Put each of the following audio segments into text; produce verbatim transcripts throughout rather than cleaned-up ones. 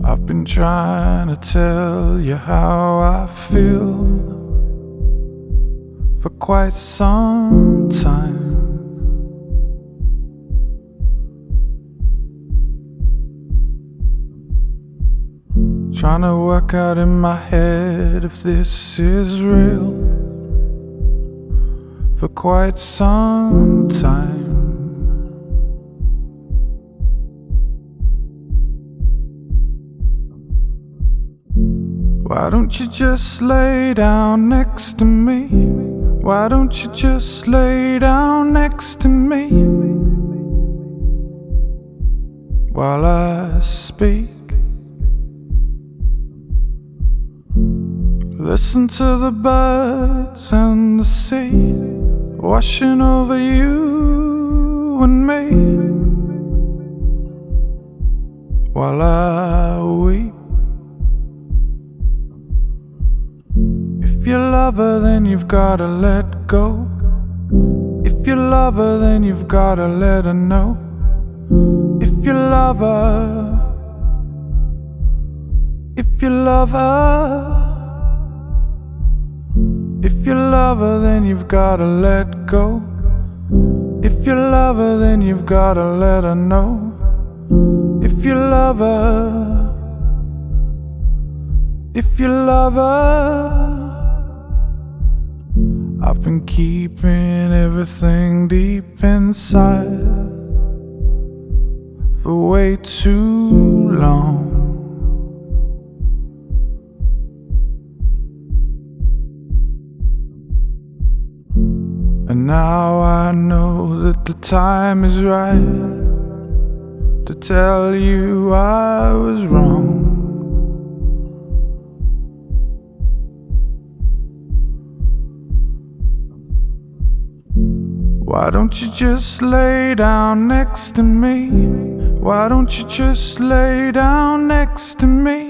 I've been trying to tell you how I feel for quite some time. Trying to work out in my head if this is real for quite some time. Why don't you just lay down next to me? Why don't you just lay down next to me while I speak? Listen to the birds and the sea washing over you and me while I weep. If you love her, then you've gotta let go. If you love her, then you've gotta let her know. If you love her, if you love her, if you love her, then you've gotta let go. If you love her, then you've gotta let her know. If you love her, if you love her. I've been keeping everything deep inside for way too long. And now I know that the time is right to tell you I was wrong. Why don't you just lay down next to me? Why don't you just lay down next to me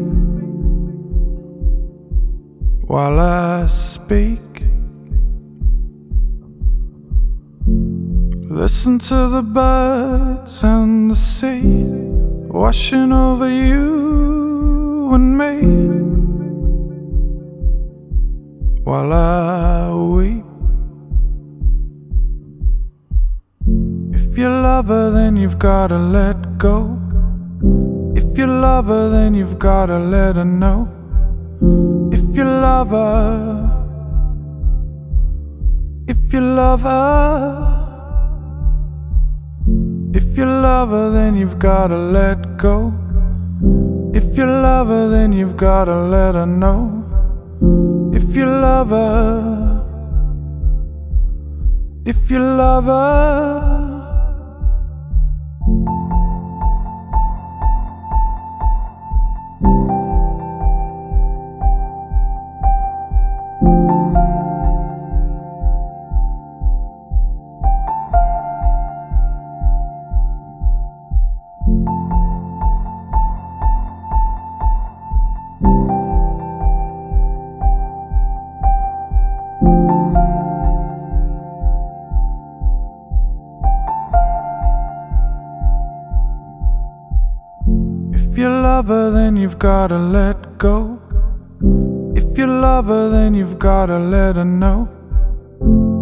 while I speak? Listen to the birds and the sea washing over you and me while I weep. If you love her, then you've gotta let go. If you love her, then you've gotta let her know. If you love her, if you love her, if you love her, then you've gotta let go. If you love her, then you've gotta let her know. If you love her, if you love her. If you love her, then you've gotta let go. If you love her, then you've gotta let her know.